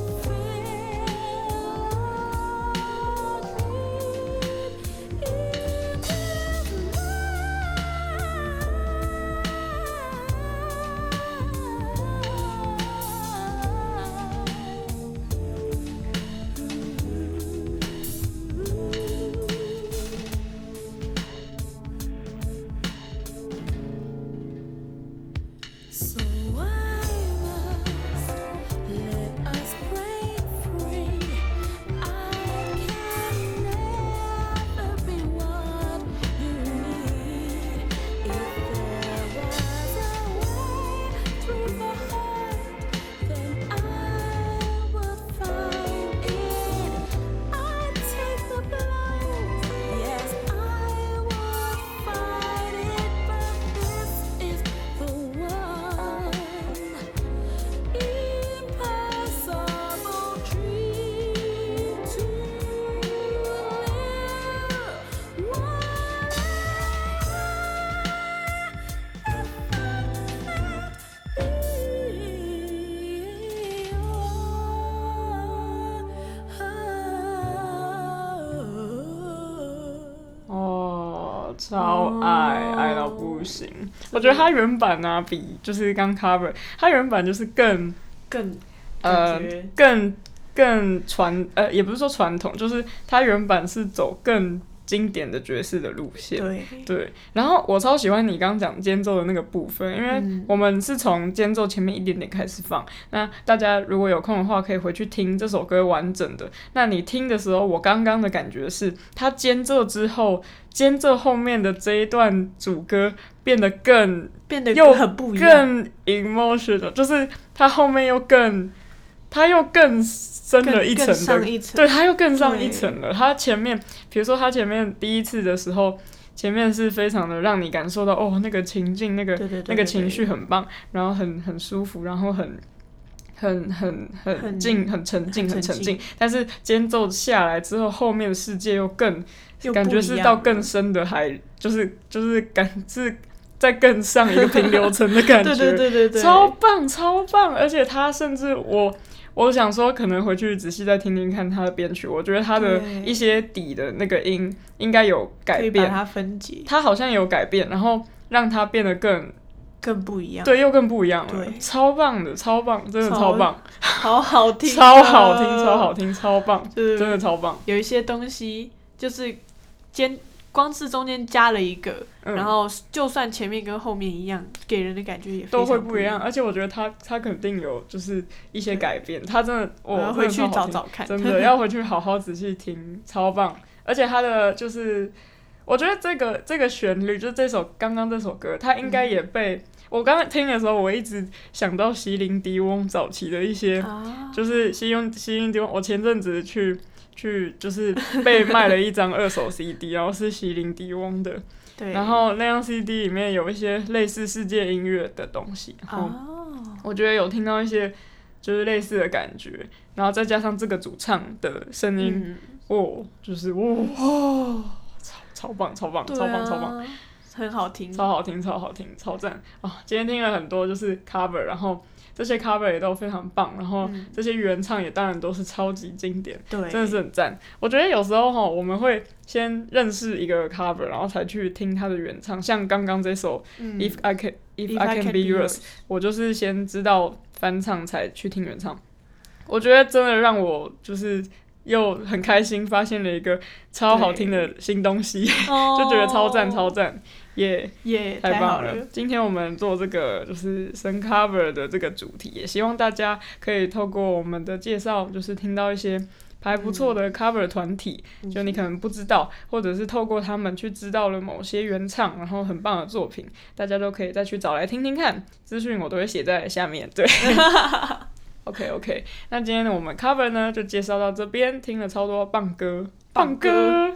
B: 超爱、哦、爱到不行。我觉得他原版啊，比就是刚 cover， 他原版就是更
C: 更
B: 呃更更传呃也不是说传统，就是他原版是走更经典的爵士的路线。
C: 对
B: 对，然后我超喜欢你刚刚讲间奏的那个部分，因为我们是从间奏前面一点点开始放。那大家如果有空的话，可以回去听这首歌完整的。那你听的时候，我刚刚的感觉是，它间奏之后，间奏后面的这一段主歌变得更
C: 变得
B: 又
C: 很不一样，
B: 更 emotional， 就是它后面又更。它又更深了一层的，
C: 上一层，
B: 对，它又更上一层了。它前面，比如说它前面第一次的时候，前面是非常的让你感受到哦，那个情境，那个
C: 对对对对对，
B: 那个情绪很棒，然后很很舒服，然后很很很很静，很沉静，很沉静。但是间奏下来之后，后面的世界又更
C: 又
B: 感觉是到更深的海，就是就是感是。再更上一个平流层的感觉，
C: 对对对对对，
B: 超棒超棒！而且他甚至我我想说，可能回去仔细再听听看他的编曲，我觉得他的一些底的那个音应该有改变，
C: 可以把它分解，
B: 他好像有改变，然后让它变得更
C: 更不一样，
B: 对，又更不一样了，
C: 对，
B: 超棒的，超棒，真的超棒，
C: 好好听，
B: 超好听，超好听，超棒，
C: 真
B: 的超棒。
C: 有一些东西就是间。光是中间加了一个、嗯，然后就算前面跟后面一样，给人的感觉也非常
B: 都会不一样。而且我觉得他他肯定有就是一些改变，他真的我
C: 要回去找找看，
B: 真的要回去好好仔细听，超棒。而且他的就是我觉得这个这个旋律，就是这首刚刚这首歌，它应该也被、嗯、我刚刚听的时候，我一直想到席琳迪翁早期的一些，啊、就是席琳席琳迪翁，我前阵子去。去就是被卖了一张二手 C D， 然后是席琳迪翁的，
C: 对，
B: 然后那张 C D 里面有一些类似世界音乐的东西，然后我觉得有听到一些就是类似的感觉，然后再加上这个主唱的声音，嗯、哦，就是哦，哦超超棒，超棒，啊、超棒，超棒，
C: 很好听，
B: 超好听，超好听，超赞啊、哦！今天听了很多就是 cover， 然后。这些 cover 也都非常棒，然后这些原唱也当然都是超级经典，
C: 对，
B: 真的是很赞。我觉得有时候齁，我们会先认識一個 cover， 然後才去聽它的原唱。像剛剛這首、嗯、If I Can If I Can Be Yours， 我就是先知道翻唱才去聽原唱。我覺得真的讓我就是又很開心，發現了一個超好聽的新東西，就覺得超讚超讚。耶、yeah,
C: 耶、yeah,
B: 太棒了！今天我們做這個就是神 cover 的這個主題，也希望大家可以透過我們的介紹，就是聽到一些還不錯的 cover 團體、嗯，就你可能不知道，或者是透過他們去知道了某些原唱，然後很棒的作品，大家都可以再去找來聽聽看。資訊我都會寫在下面，對。OK OK， 那今天呢，我們 cover 呢就介紹到這邊，聽了超多棒歌。棒歌，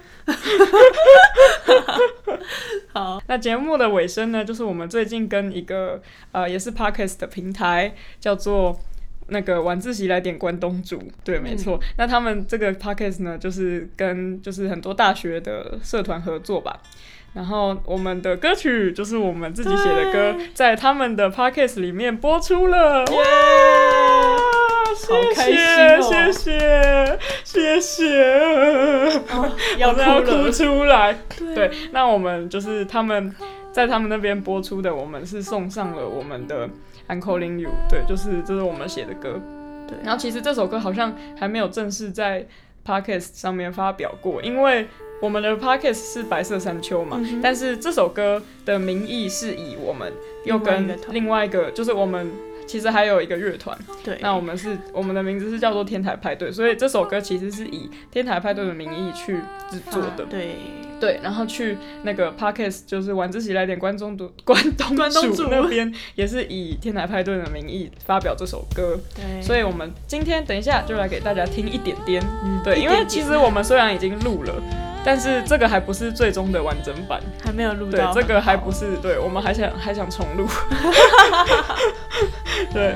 C: 好。
B: 那節目的尾聲呢，就是我們最近跟一個呃也是 Podcast 的平台叫做那個晚自習來點關東煮，對，沒錯、嗯。那他們這個 Podcast 呢，就是跟就是很多大學的社團合作吧。然後我們的歌曲就是我們自己寫的歌，在他們的 Podcast 裡面播出了。哇！
C: 好開心哦！
B: 謝謝，謝謝，
C: 哦、要哭了，
B: 要哭出來。對，對，那我們就是他們在他們那邊播出的，我們是送上了我們的 I'm Calling You， 對，就是這是我們寫的歌。對，然後其實這首歌好像還沒有正式在 Podcast 上面發表過，因為我們的 Podcast 是白色山丘嘛、嗯，但是這首歌的名義是以我們又跟另外一個，就是我們。其實還有一個樂團，對，那我們是我們的名字是叫做天台派對，所以這首歌其實是以天台派對的名義去製作的，
C: 對
B: 對，然後去那個 podcast 就是晚自習來點關東煮關東煮那邊也是以天台派對的名義發表這首歌，對，所以我們今天等一下就來給大家聽一點點，嗯，對，因為其實我們雖然已經錄了。但是這個還不是最終的完整版，
C: 還沒有錄到。
B: 對，這個還不是，對，我們還想還想重錄。對。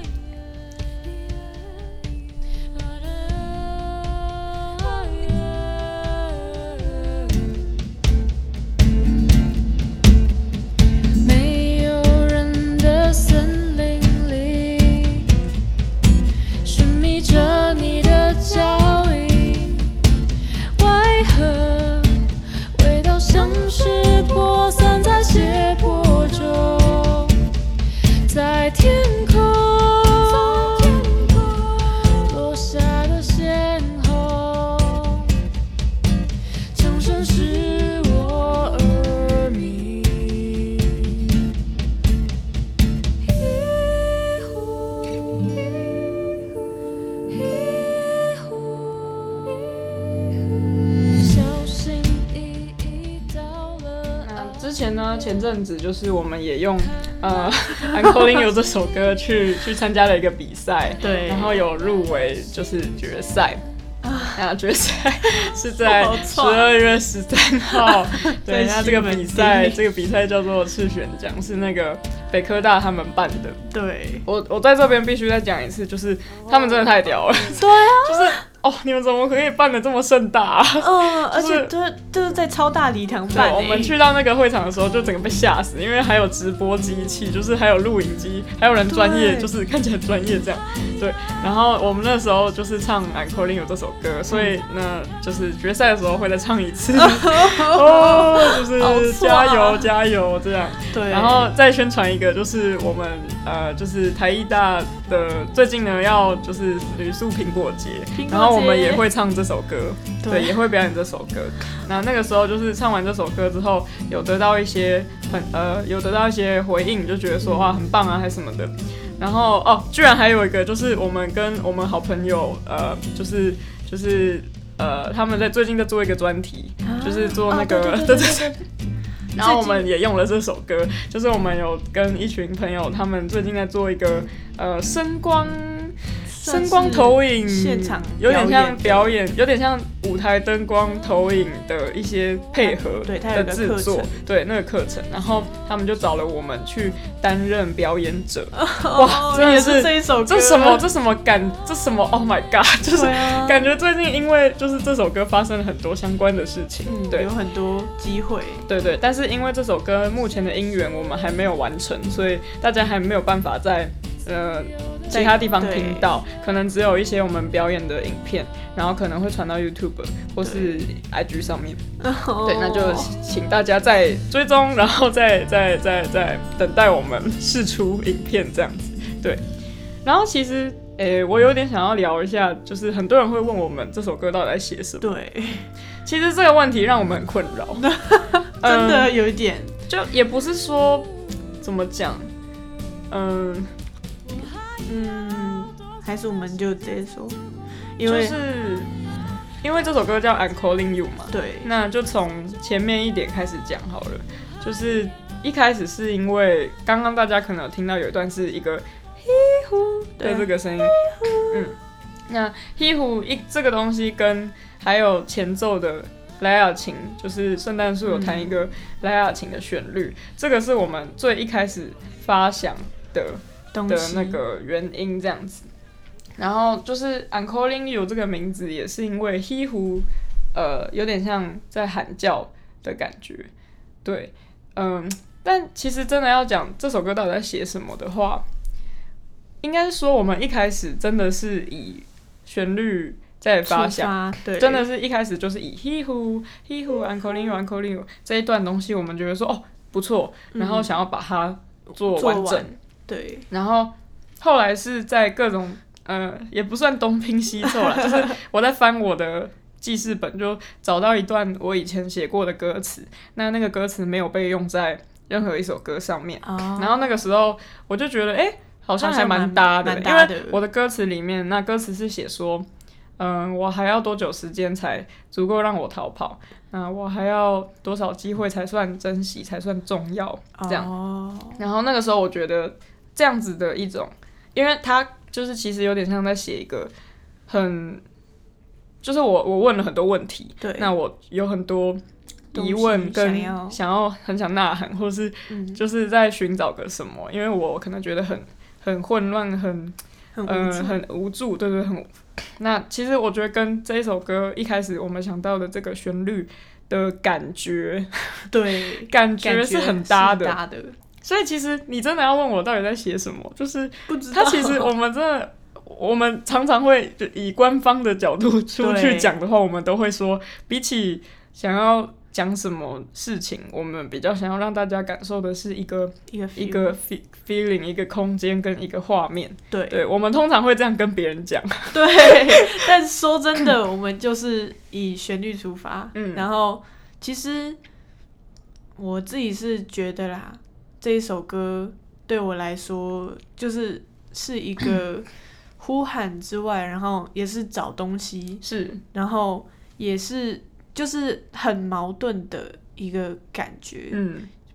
A: 沒有人的森林裡，尋覓着你的腳印。味道像是
B: 前呢，前阵子就是我们也用呃《I'm Calling You》这首歌去去参加了一个比赛，
C: 对，
B: 然后有入围就是决赛。啊，决赛是在十二月十三号。对，那这个比赛，这个比赛叫做赤选奖，是那个北科大他们办的。
C: 对，
B: 我我在这边必须再讲一次，就是他们真的太屌了。
C: 对啊，
B: 就是哦，你们怎么可以办得这么盛大啊？
C: 嗯，而且就是就是在超大礼堂办。
B: 我们去到那个会场的时候，就整个被吓死，因为还有直播机器，就是还有录影机，还有人专业，就是看起来很专业这样。对，然后我们那时候就是唱《I'm Calling You》这首歌，所以呢，就是决赛的时候会再唱一次。哦，就是加油加油这样。
C: 对，
B: 然后再宣传一个，就是我们呃，就是台艺大的最近呢要就是旅宿苹果节，然后我们也会唱这首歌，对，对，也会表演这首歌。那那个时候就是唱完这首歌之后，有得到一些很呃，有得到一些回应，就觉得说哇很棒啊，还是什么的。然后哦，居然还有一个就是我们跟我们好朋友呃，就是就是呃，他们在最近在做一个专题，啊、就是做那个对对对。然后我们也用了这首歌，就是我们有跟一群朋友，他们最近在做一个呃声光。声光投影
C: 现场
B: 有点像表演，有点像舞台灯光投影的一些配合的制作，对那个课程，然后他们就找了我们去担任表演者。
C: 哦、哇，真的是这一首歌，
B: 这什么这什么感，这什么 Oh my God， 就是感觉最近因为就是这首歌发生了很多相关的事情，嗯、对，
C: 有很多机会，
B: 对对，但是因为这首歌目前的音源我们还没有完成，所以大家还没有办法在呃。其他地方听到，可能只有一些我们表演的影片，然后可能会传到 YouTube 或是 I G 上面。对，那就请大家再追踪，然后再再再再等待我们释出影片这样子。对，然后其实，诶，我有点想要聊一下，就是很多人会问我们这首歌到底在写什么。
C: 对，
B: 其实这个问题让我们很困扰，
C: 真的有一点，
B: 嗯、就也不是说怎么讲，嗯。
C: 嗯，还是我们就直接说，因为、
B: 就是因为这首歌叫 I'm Calling You 嘛，
C: 对，
B: 那就从前面一点开始讲好了。就是一开始是因为刚刚大家可能有听到有一段是一个嘿呼的这个声音，嗯，那嘿呼一这个东西跟还有前奏的莱雅琴，就是圣诞树有弹一个莱雅琴的旋律，嗯、这个是我们最一开始发想的。的那个原因这样子，然后就是 I'm Calling You 这个名字也是因为 He Who 呃有点像在喊叫的感觉，对，嗯，但其实真的要讲这首歌到底在写什么的话，应该是说我们一开始真的是以旋律在发想，
C: 对，
B: 真的是一开始就是以 He Who He Who I'm Calling You I'm Calling You 这一段东西，我们觉得说哦不错，然后想要把它做完整。
C: 对，
B: 然后后来是在各种呃，也不算东拼西凑啦，就是我在翻我的记事本，就找到一段我以前写过的歌词，那那个歌词没有被用在任何一首歌上面，哦、然后那个时候我就觉得，哎、欸，好像还蛮搭的，因为我的歌词里面，那歌词是写说，嗯、呃，我还要多久时间才足够让我逃跑？那我还要多少机会才算珍惜，才算重要？这样，哦、然后那个时候我觉得。这样子的一种，因为他就是其实有点像在写一个很，就是我我问了很多问题，
C: 对，
B: 那我有很多疑问跟想要, 想要很想呐喊，或是就是在寻找个什么，嗯、因为我可能觉得很很混乱，很
C: 很无助、
B: 呃、很无助，对对，很。那其实我觉得跟这一首歌一开始我们想到的这个旋律的感觉，
C: 对，
B: 感觉是很搭的。
C: 搭的
B: 所以其实你真的要问我到底在写什么，就是他其实我们真的，我们常常会以官方的角度出去讲的话，我们都会说，比起想要讲什么事情，我们比较想要让大家感受的是一个
C: 一个
B: feel, 一个 feeling， 一个空间跟一个画面。
C: 对，
B: 对，我们通常会这样跟别人讲。
C: 对，但说真的，我们就是以旋律出发，嗯，然后其实我自己是觉得啦。这一首歌对我来说，就是是一个呼喊之外，然后也是找东西，
B: 是，
C: 然后也是就是很矛盾的一个感觉。嗯，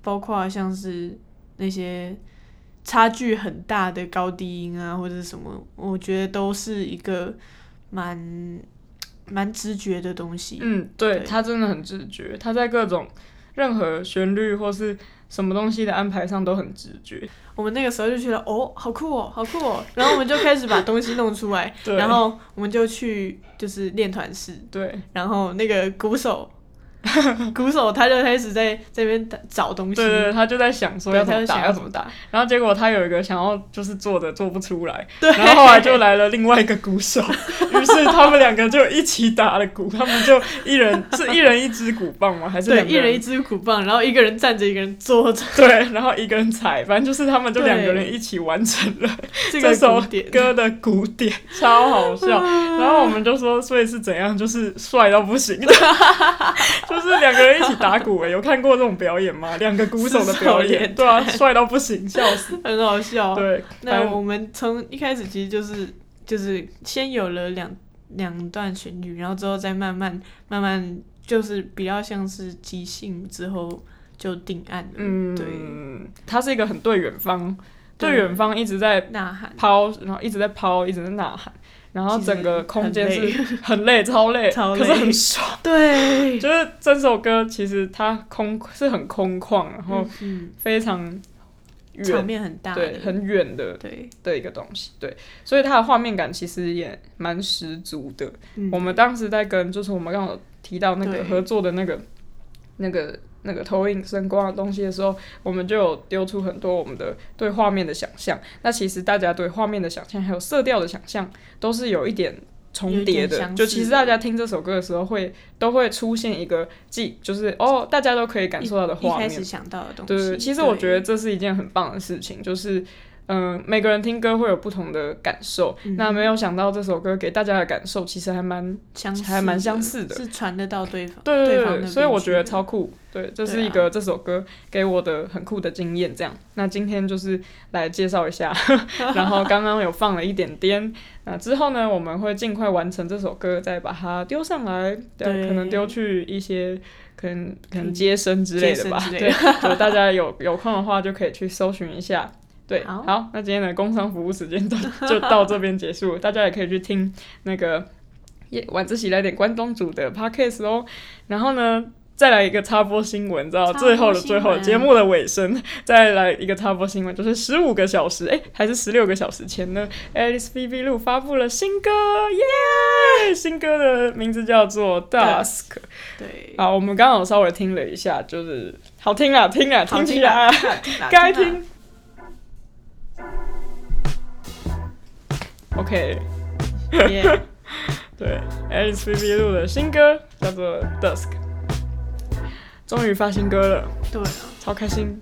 C: 包括像是那些差距很大的高低音啊，或者是什么，我觉得都是一个蛮蛮直觉的东西。
B: 嗯，对，他真的很直觉，他在各种任何旋律或是什么东西的安排上都很直觉。
C: 我们那个时候就觉得哦，好酷哦，好酷哦，然后我们就开始把东西弄出来，然后我们就去就是练团室，
B: 对，
C: 然后那个鼓手。鼓手他就开始在这边找东西，
B: 对对，他就在想说要怎么打要怎么打，然后结果他有一个想要就是做的做不出来，
C: 对，
B: 然后后来就来了另外一个鼓手，于是他们两个就一起打了鼓，他们就一人是一人一支鼓棒吗？还是两个人？
C: 对，一人一支鼓棒，然后一个人站着，一个人坐着，
B: 对，然后一个人踩，反正就是他们就两个人一起完成了这首歌的鼓点，超好笑。然后我们就说，所以是怎样？就是帅到不行。就是两个人一起打鼓诶，有看过这种表演吗？两个鼓手的表演，对啊，帅到不行，笑死，
C: 很好笑。
B: 对，
C: 那我们从一开始其实就是就是先有了两两段旋律，然后之后再慢慢慢慢就是比较像是即兴之后就定案了。嗯，对，
B: 它是一个很对远方，对远方一直在
C: 呐喊
B: 抛，然后一直在抛，一直在呐喊。然后整个空间是很累，超累，
C: 超累，
B: 可是很爽。
C: 对，
B: 就是这首歌其实它空是很空旷，然后非常远，
C: 场面很大，
B: 对，很远的
C: 对
B: 的一个东西，对，所以它的画面感其实也蛮十足的。嗯、我们当时在跟就是我们刚刚提到那个合作的那个那个。那个投影声光的东西的时候，我们就有丢出很多我们的对画面的想象。那其实大家对画面的想象还有色调的想象都是有一点重叠的，就其实大家听这首歌的时候会都会出现一个既就是哦大家都可以感受到的画面，
C: 一开始想到的东西。
B: 对对，其实我觉得这是一件很棒的事情，就是嗯、呃，每个人听歌会有不同的感受、嗯、那没有想到这首歌给大家的感受其实还蛮
C: 相似，
B: 还蛮相似的，
C: 是传得到对方，
B: 对对对，
C: 对方
B: 所以我觉得超酷。对，这是一个这首歌给我的很酷的经验。这样，那今天就是来介绍一下，然后刚刚有放了一点点，那之后呢，我们会尽快完成这首歌，再把它丢上来，对，可能丢去一些可能可能接生之类的吧，对，就大家有有空的话就可以去搜寻一下。对，好，好，那今天的工商服务时间就就到这边结束了，大家也可以去听那个晚自习来点关东煮的 podcast 哦。然后呢，再来一个插播新闻，知道最后的最后节目的尾声，再来一个插播新闻，就是十五个小时，哎，还是十六个小时前呢 ，Alice V V 录发布了新歌，耶！新歌的名字叫做 Dusk。
C: 对，
B: 好，我们刚刚有稍微听了一下，就是好听啊，听啊，听起来，该听。OK，
C: yeah.
B: 对 ，Alice V V 录的新歌叫做 Dusk， 终于发新歌了，
C: 对啊，
B: 超开心。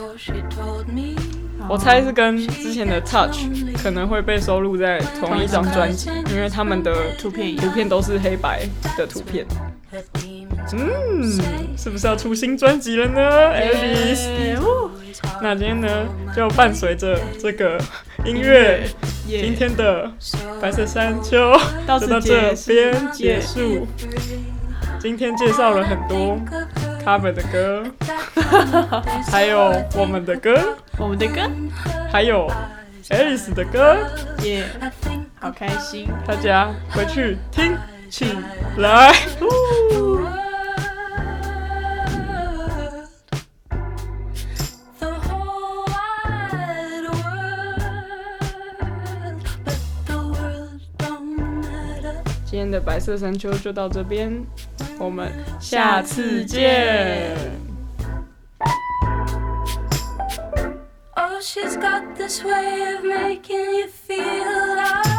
B: 我猜是跟之前的 Touch 可能会被收录在同一张专辑，因为他们的
C: 图片
B: 图片都是黑白的图片。嗯，是不是要出新专辑了呢 ，Alice？ 那今天呢，就伴随着这个音乐， yeah, yeah. 今天的白色山丘就到这边结束。今天介绍了很多 cover 的歌，还有我们的歌，
C: 我们的歌，
B: 还有 Alice 的歌，
C: 耶、yeah, ，好开心！
B: 大家回去听起来。今天的白色山丘就到这边，我们下次见。
A: Oh, she's got this way of making you feel like